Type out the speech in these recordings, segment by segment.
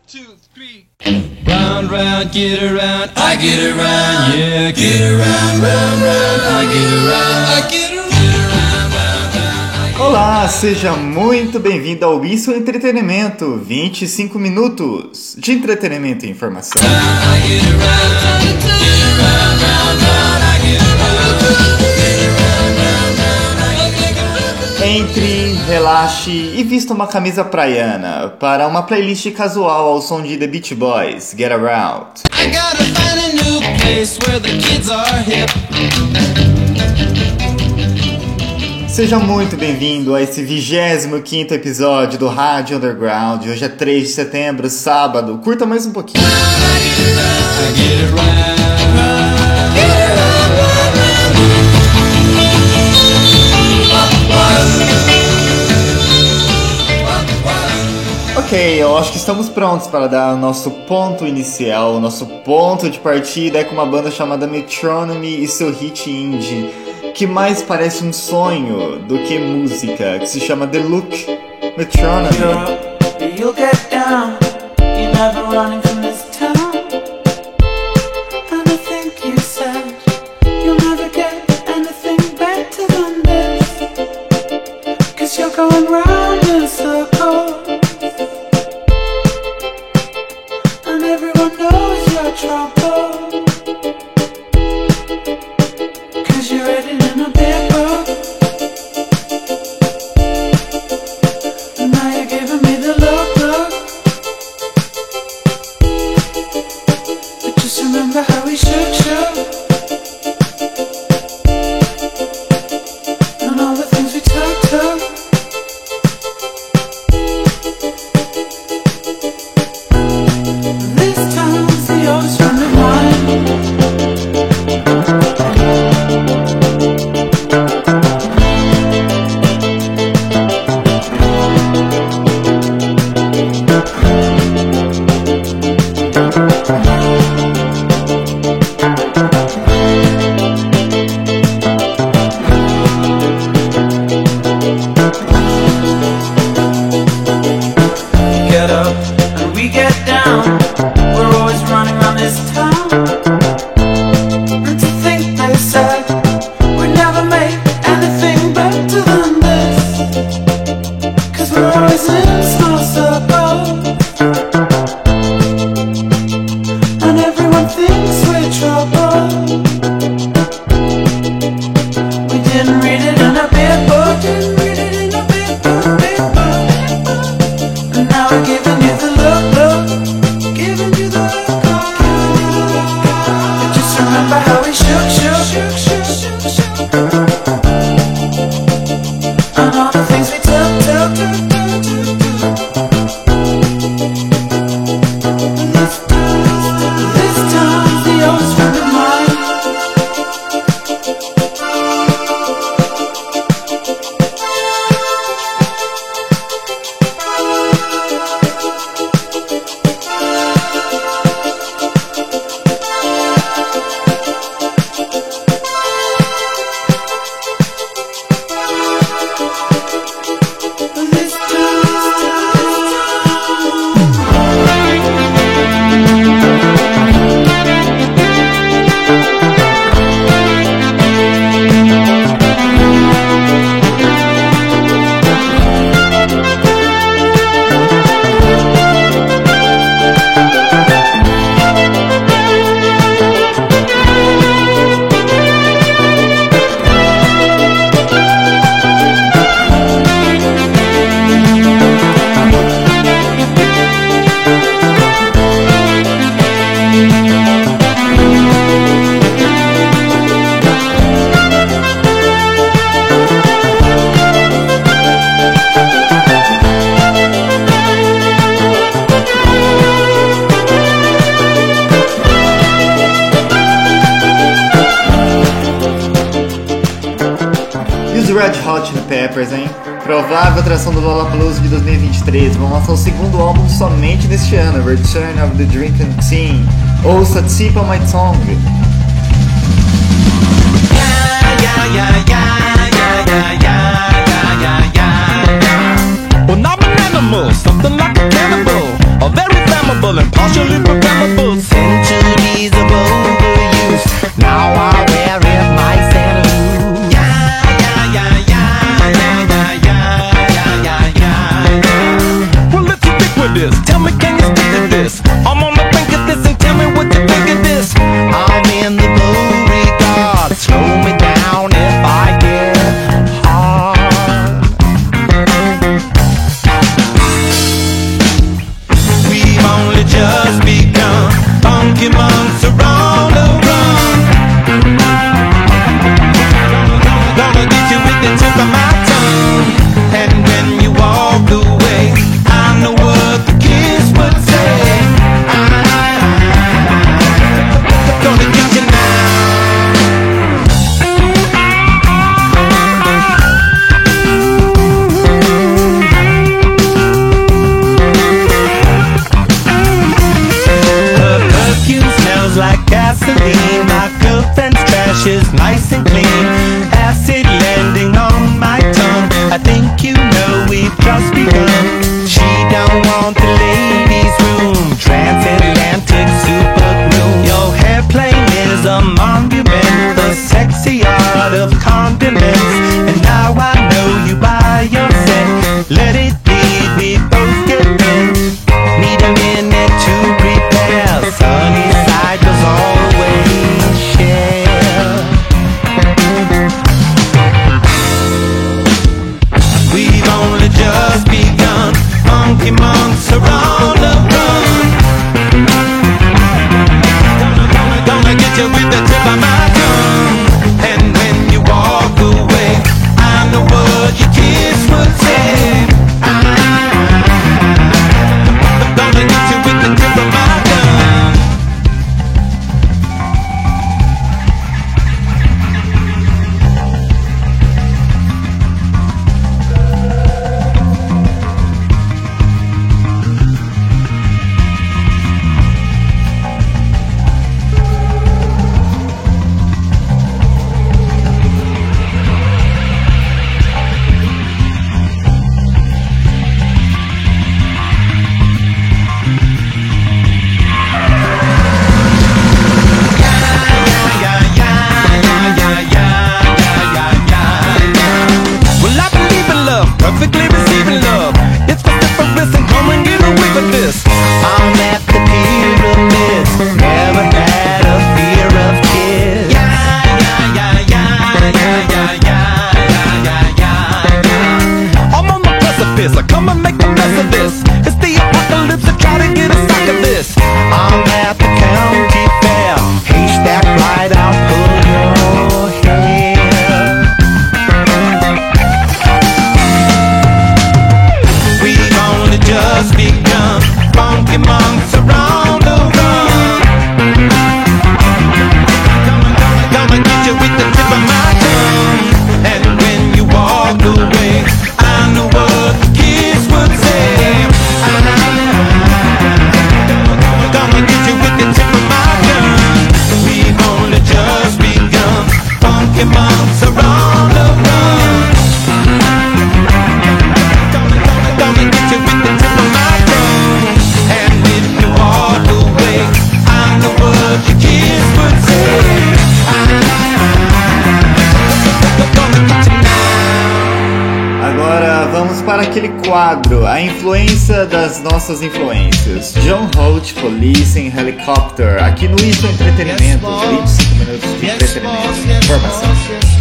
2, 3. Round, round, get around, I get around, yeah, get around, round, round, I get around, I get around. Olá, seja muito bem-vindo ao Isso Entretenimento, 25 minutos de entretenimento e informação. Entre, relaxe e vista uma camisa praiana para uma playlist casual ao som de The Beach Boys, Get Around. I gotta find a new place where the kids are hip. Seja muito bem-vindo a esse 25º episódio do Rádio Underground. Hoje é 3 de setembro, sábado. Curta mais um pouquinho. Ok, eu acho que estamos prontos para dar o nosso ponto inicial. O nosso ponto de partida é com uma banda chamada Metronomy e seu hit indie, que mais parece um sonho do que música, que se chama The Look. Metronomy. You'll get down, you're never running from this town. And I think you said you'll never get anything better than this, 'cause you're going round in circles, and everyone knows your trouble, 'cause you're written in a big book. And now you're giving me the look. But just remember how we should. And all the things we took. This time's the oldest friend of mine. Get up and we get down. We're always running around this town. And to think they said we'd never make anything better than this, 'cause we're always in small circles, and everyone thinks we're trouble. We didn't read it in a big book. And now we're giving you the look, giving you the look. But just remember how we shook. And all the things we took. This time's the oldest friend of mine. This E os Red Hot Chili Peppers, hein? Provável atração do Lollapalooza de 2023. Vão lançar o segundo álbum somente neste ano, Return of the Drinking Scene. Ouça Tip of My Tongue. Well, I'm an animal, something like a cannibal, a very flammable. of this? Tell me, can you stick to this? I'm on the brink of this, and tell me what you think of this. I'm in the Beauregard. Slow me down if I get hard. We've only just begun. Funky monks are on the run. Gonna get you with the tip of my tongue. And when you walk away, I know what the kids would say. Gonna get you now. Her perfume smells like gasoline. My girlfriend's trash is nice and clean. Acid landing on my tongue. I think you know we've just begun. She don't want the ladies' room. Transatlantic super glue. Your hairplane is a monument. The sexy art of condiments. And now I know you by yourself. Let it be, we both get bent. Need a minute to prepare. Sunny side does always share. We've only just begun. Funky monks are on the run. Gonna get you with the tip of my tongue. And when you walk away, I know what your kids would say. Gonna get you with the tip of my tongue. Well, I believe in love, perfectly receiving love. It's vociferous and come and get away with this. I'm at the pyramids, never had a fear of kids. I'm on the precipice, I come and make a mess of this. It's the apocalypse, I try to get a sack of this. I'm at the county fair, haystack right out, pull your hair. We've only just begun. Funky monks are on the run. Gonna get you with the tip of my tongue. And when you walk away, I know what the kids would say. Gonna get you with the tip of my tongue. We've only just begun. Funky monks are on the run. Gonna get you with the tip of my tongue. And when you walk away, I know what your kids would say. Gonna get you now. Agora vamos para aquele quadro, a influência das nossas influências. John Holt, Police em Helicopter, aqui no Isso Entretenimento, 25 minutos de entretenimento, informação.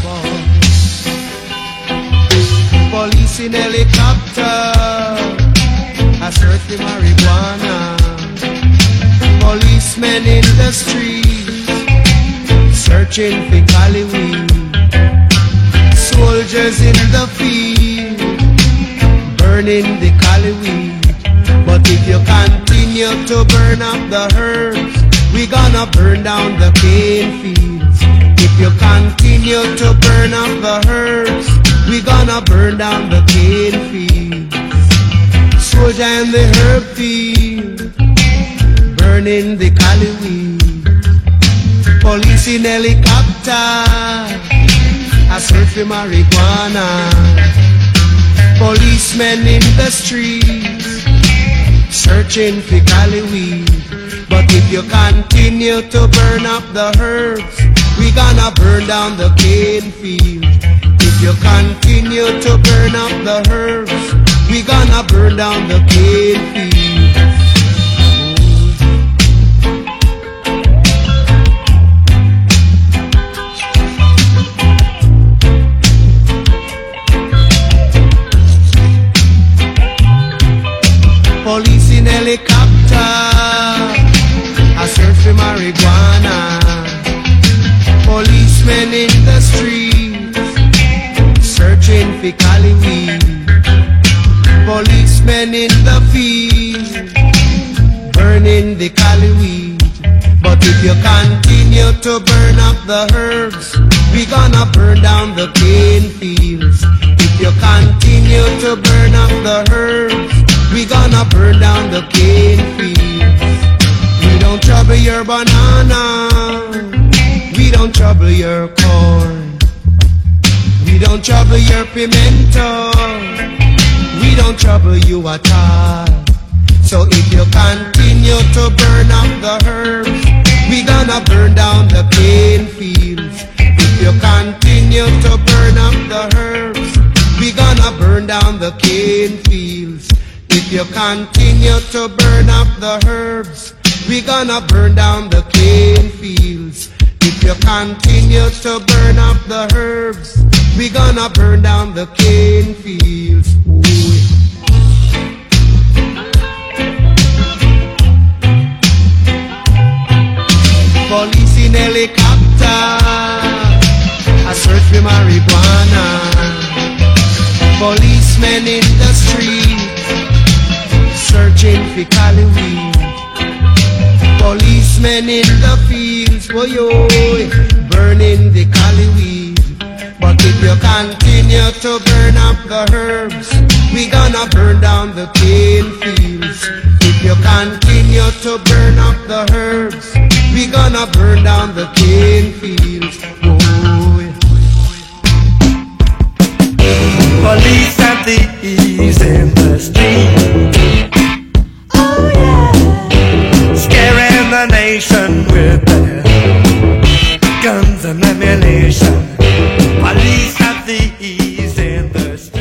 Police in helicopter, I search for marijuana. Policemen in the streets, searching for Cali weed. Soldiers in the field, burning the Cali weed. But if you continue to burn up the herbs, we gonna burn down the cane fields. If you continue to burn up the herbs, we gonna burn down the cane fields. Soldier in the herb field, burning the Cali weed. Police in helicopter, I search for marijuana. Policemen in the streets, searching for Cali weed. But if you continue to burn up the herbs, we gonna burn down the cane field. If you continue to burn up the herbs, we gonna burn down the cane fields. Police in helicopter, I search for marijuana. Policemen in the streets, searching for cali weed. Policemen in the field, burning the cali weed. But if you continue to burn up the herbs, we gonna burn down the cane fields. If you continue to burn up the herbs, we gonna burn down the cane fields. We don't trouble your banana, we don't trouble your corn, we don't trouble your pimento, we don't trouble you at all. So if you continue to burn up the herbs, we gonna burn down the cane fields. If you continue to burn up the herbs, we gonna burn down the cane fields. If you continue to burn up the herbs, we gonna burn down the cane fields. If you continue to burn up the herbs, we gonna burn down the cane fields. Ooh. Police in helicopter, I search for marijuana. Policemen in the street, searching for cali weed. Policemen in the fields, boy, burning the cali weed. But if you continue to burn up the herbs, we gonna burn down the cane fields. If you continue to burn up the herbs, we gonna burn down the cane fields. Oh, yeah. Police and thieves in the street. Oh yeah. Scaring the nation with their guns and ammunition. Police and thieves in the street.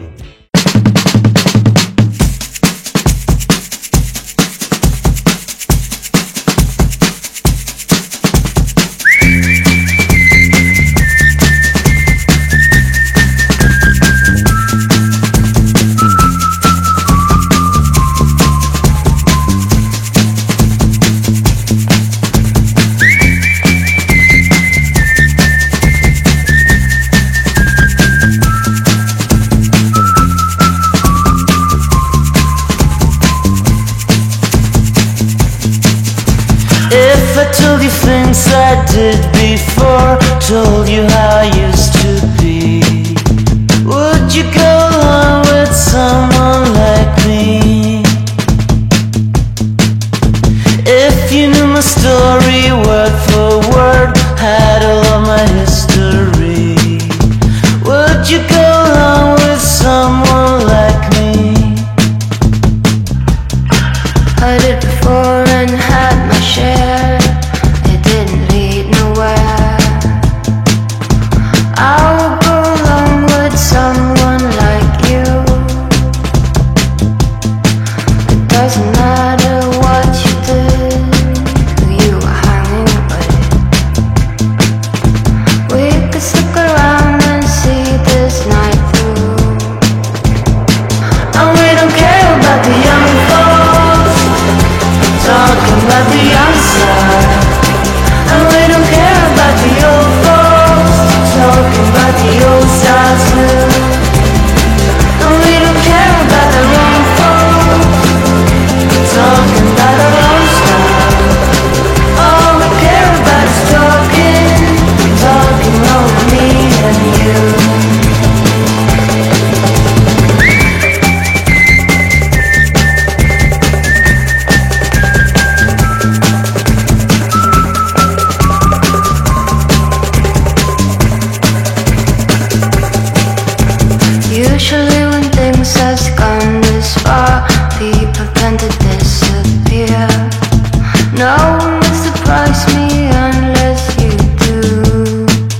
Things I did before, told you how I used to be. Would you go along with someone like me? If you knew my story word for word, had all of my history, would you go along with someone like me? I did before and had my share.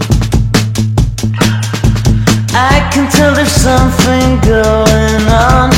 Something going on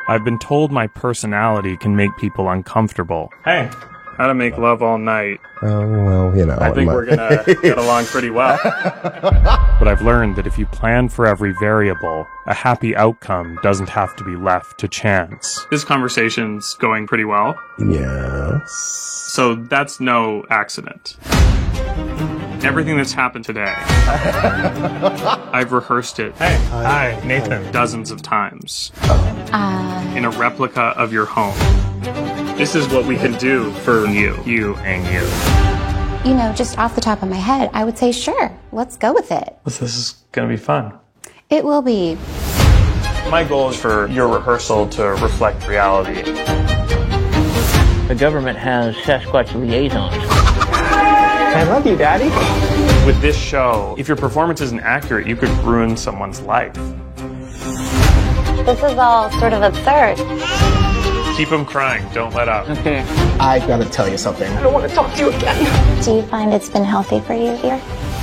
I've been told my personality can make people uncomfortable. Hey, how to make love all night. Well, you know. I think we're gonna get along pretty well. But I've learned that if you plan for every variable, a happy outcome doesn't have to be left to chance. This conversation's going pretty well. Yes. So that's no accident. Everything that's happened today, I've rehearsed it. Hey, hi, Nathan. Dozens of times. In a replica of your home. This is what we can do for you and you. You know, just off the top of my head, I would say sure, let's go with it. This is gonna be fun. It will be. My goal is for your rehearsal to reflect reality. The government has Sasquatch liaisons. I love you, Daddy. With this show, if your performance isn't accurate, you could ruin someone's life. This is all sort of absurd. Keep them crying. Don't let up. Okay. I gotta tell you something. I don't want to talk to you again. Do you find it's been healthy for you here?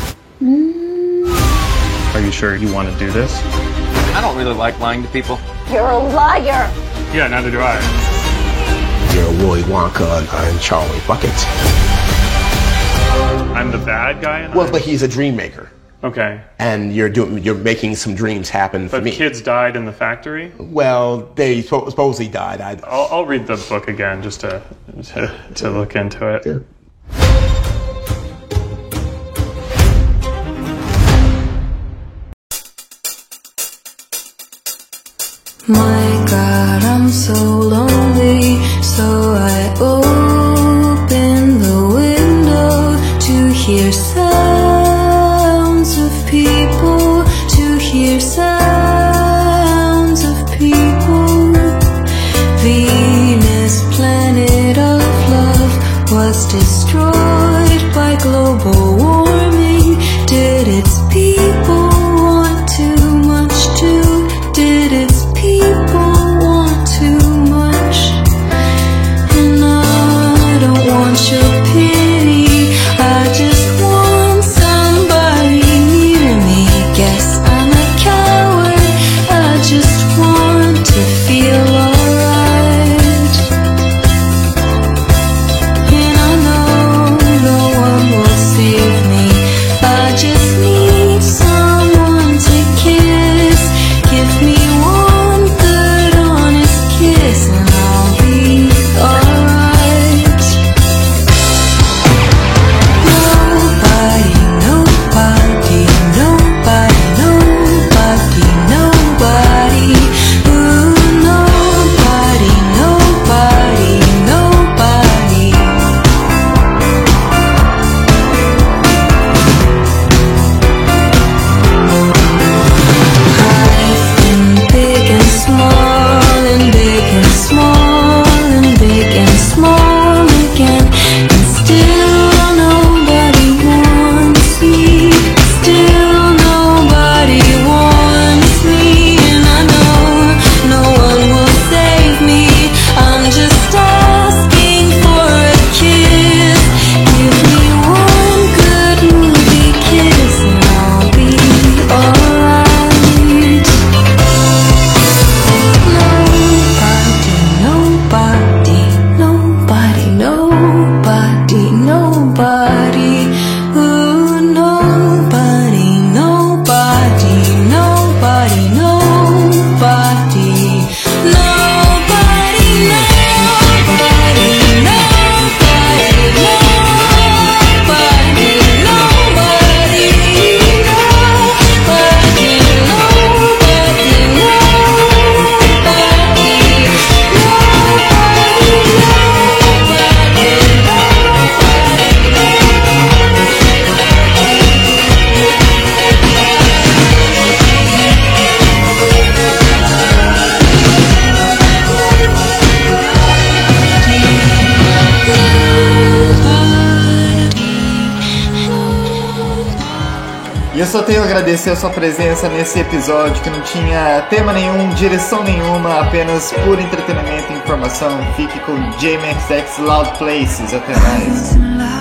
Are you sure you want to do this? I don't really like lying to people. You're a liar! Yeah, neither do I. You're Willy Wonka and Charlie Bucket. I'm the bad guy in Well, but he's a dream maker. Okay. And you're making some dreams happen for But me. kids died in the factory? Well, they supposedly died. I'll read the book again just to look into it. Yeah. My God, I'm so lonely, so I open the window to hear sounds of people, to hear sounds of people. Venus, planet of love, was destroyed by global warming. Did its people want too much too? Did its people want too much? And I don't want your pity, I just want somebody near me. Guess I'm a coward, I just want to feel alright. And I know no one will save me, I just need someone to kiss. Give me one good honest kiss and I'll be alright. Nobody, nobody, nobody, nobody, nobody. Ooh, nobody, nobody, nobody. I've been big and small and big and small and big and small again, and still nobody wants me. Still nobody wants me, and I know no one will save me. I'm just asking for a kiss. Give me one good movie kiss and I'll be alright. Nobody, nobody, nobody, nobody. Ooh, nobody, nobody, nobody, nobody. Nobody, nobody, nobody, nobody, nobody, E eu só tenho a agradecer a sua presença nesse episódio que não tinha tema nenhum, direção nenhuma, apenas puro entretenimento e informação. Fique com JMXX Loud Places. Até mais.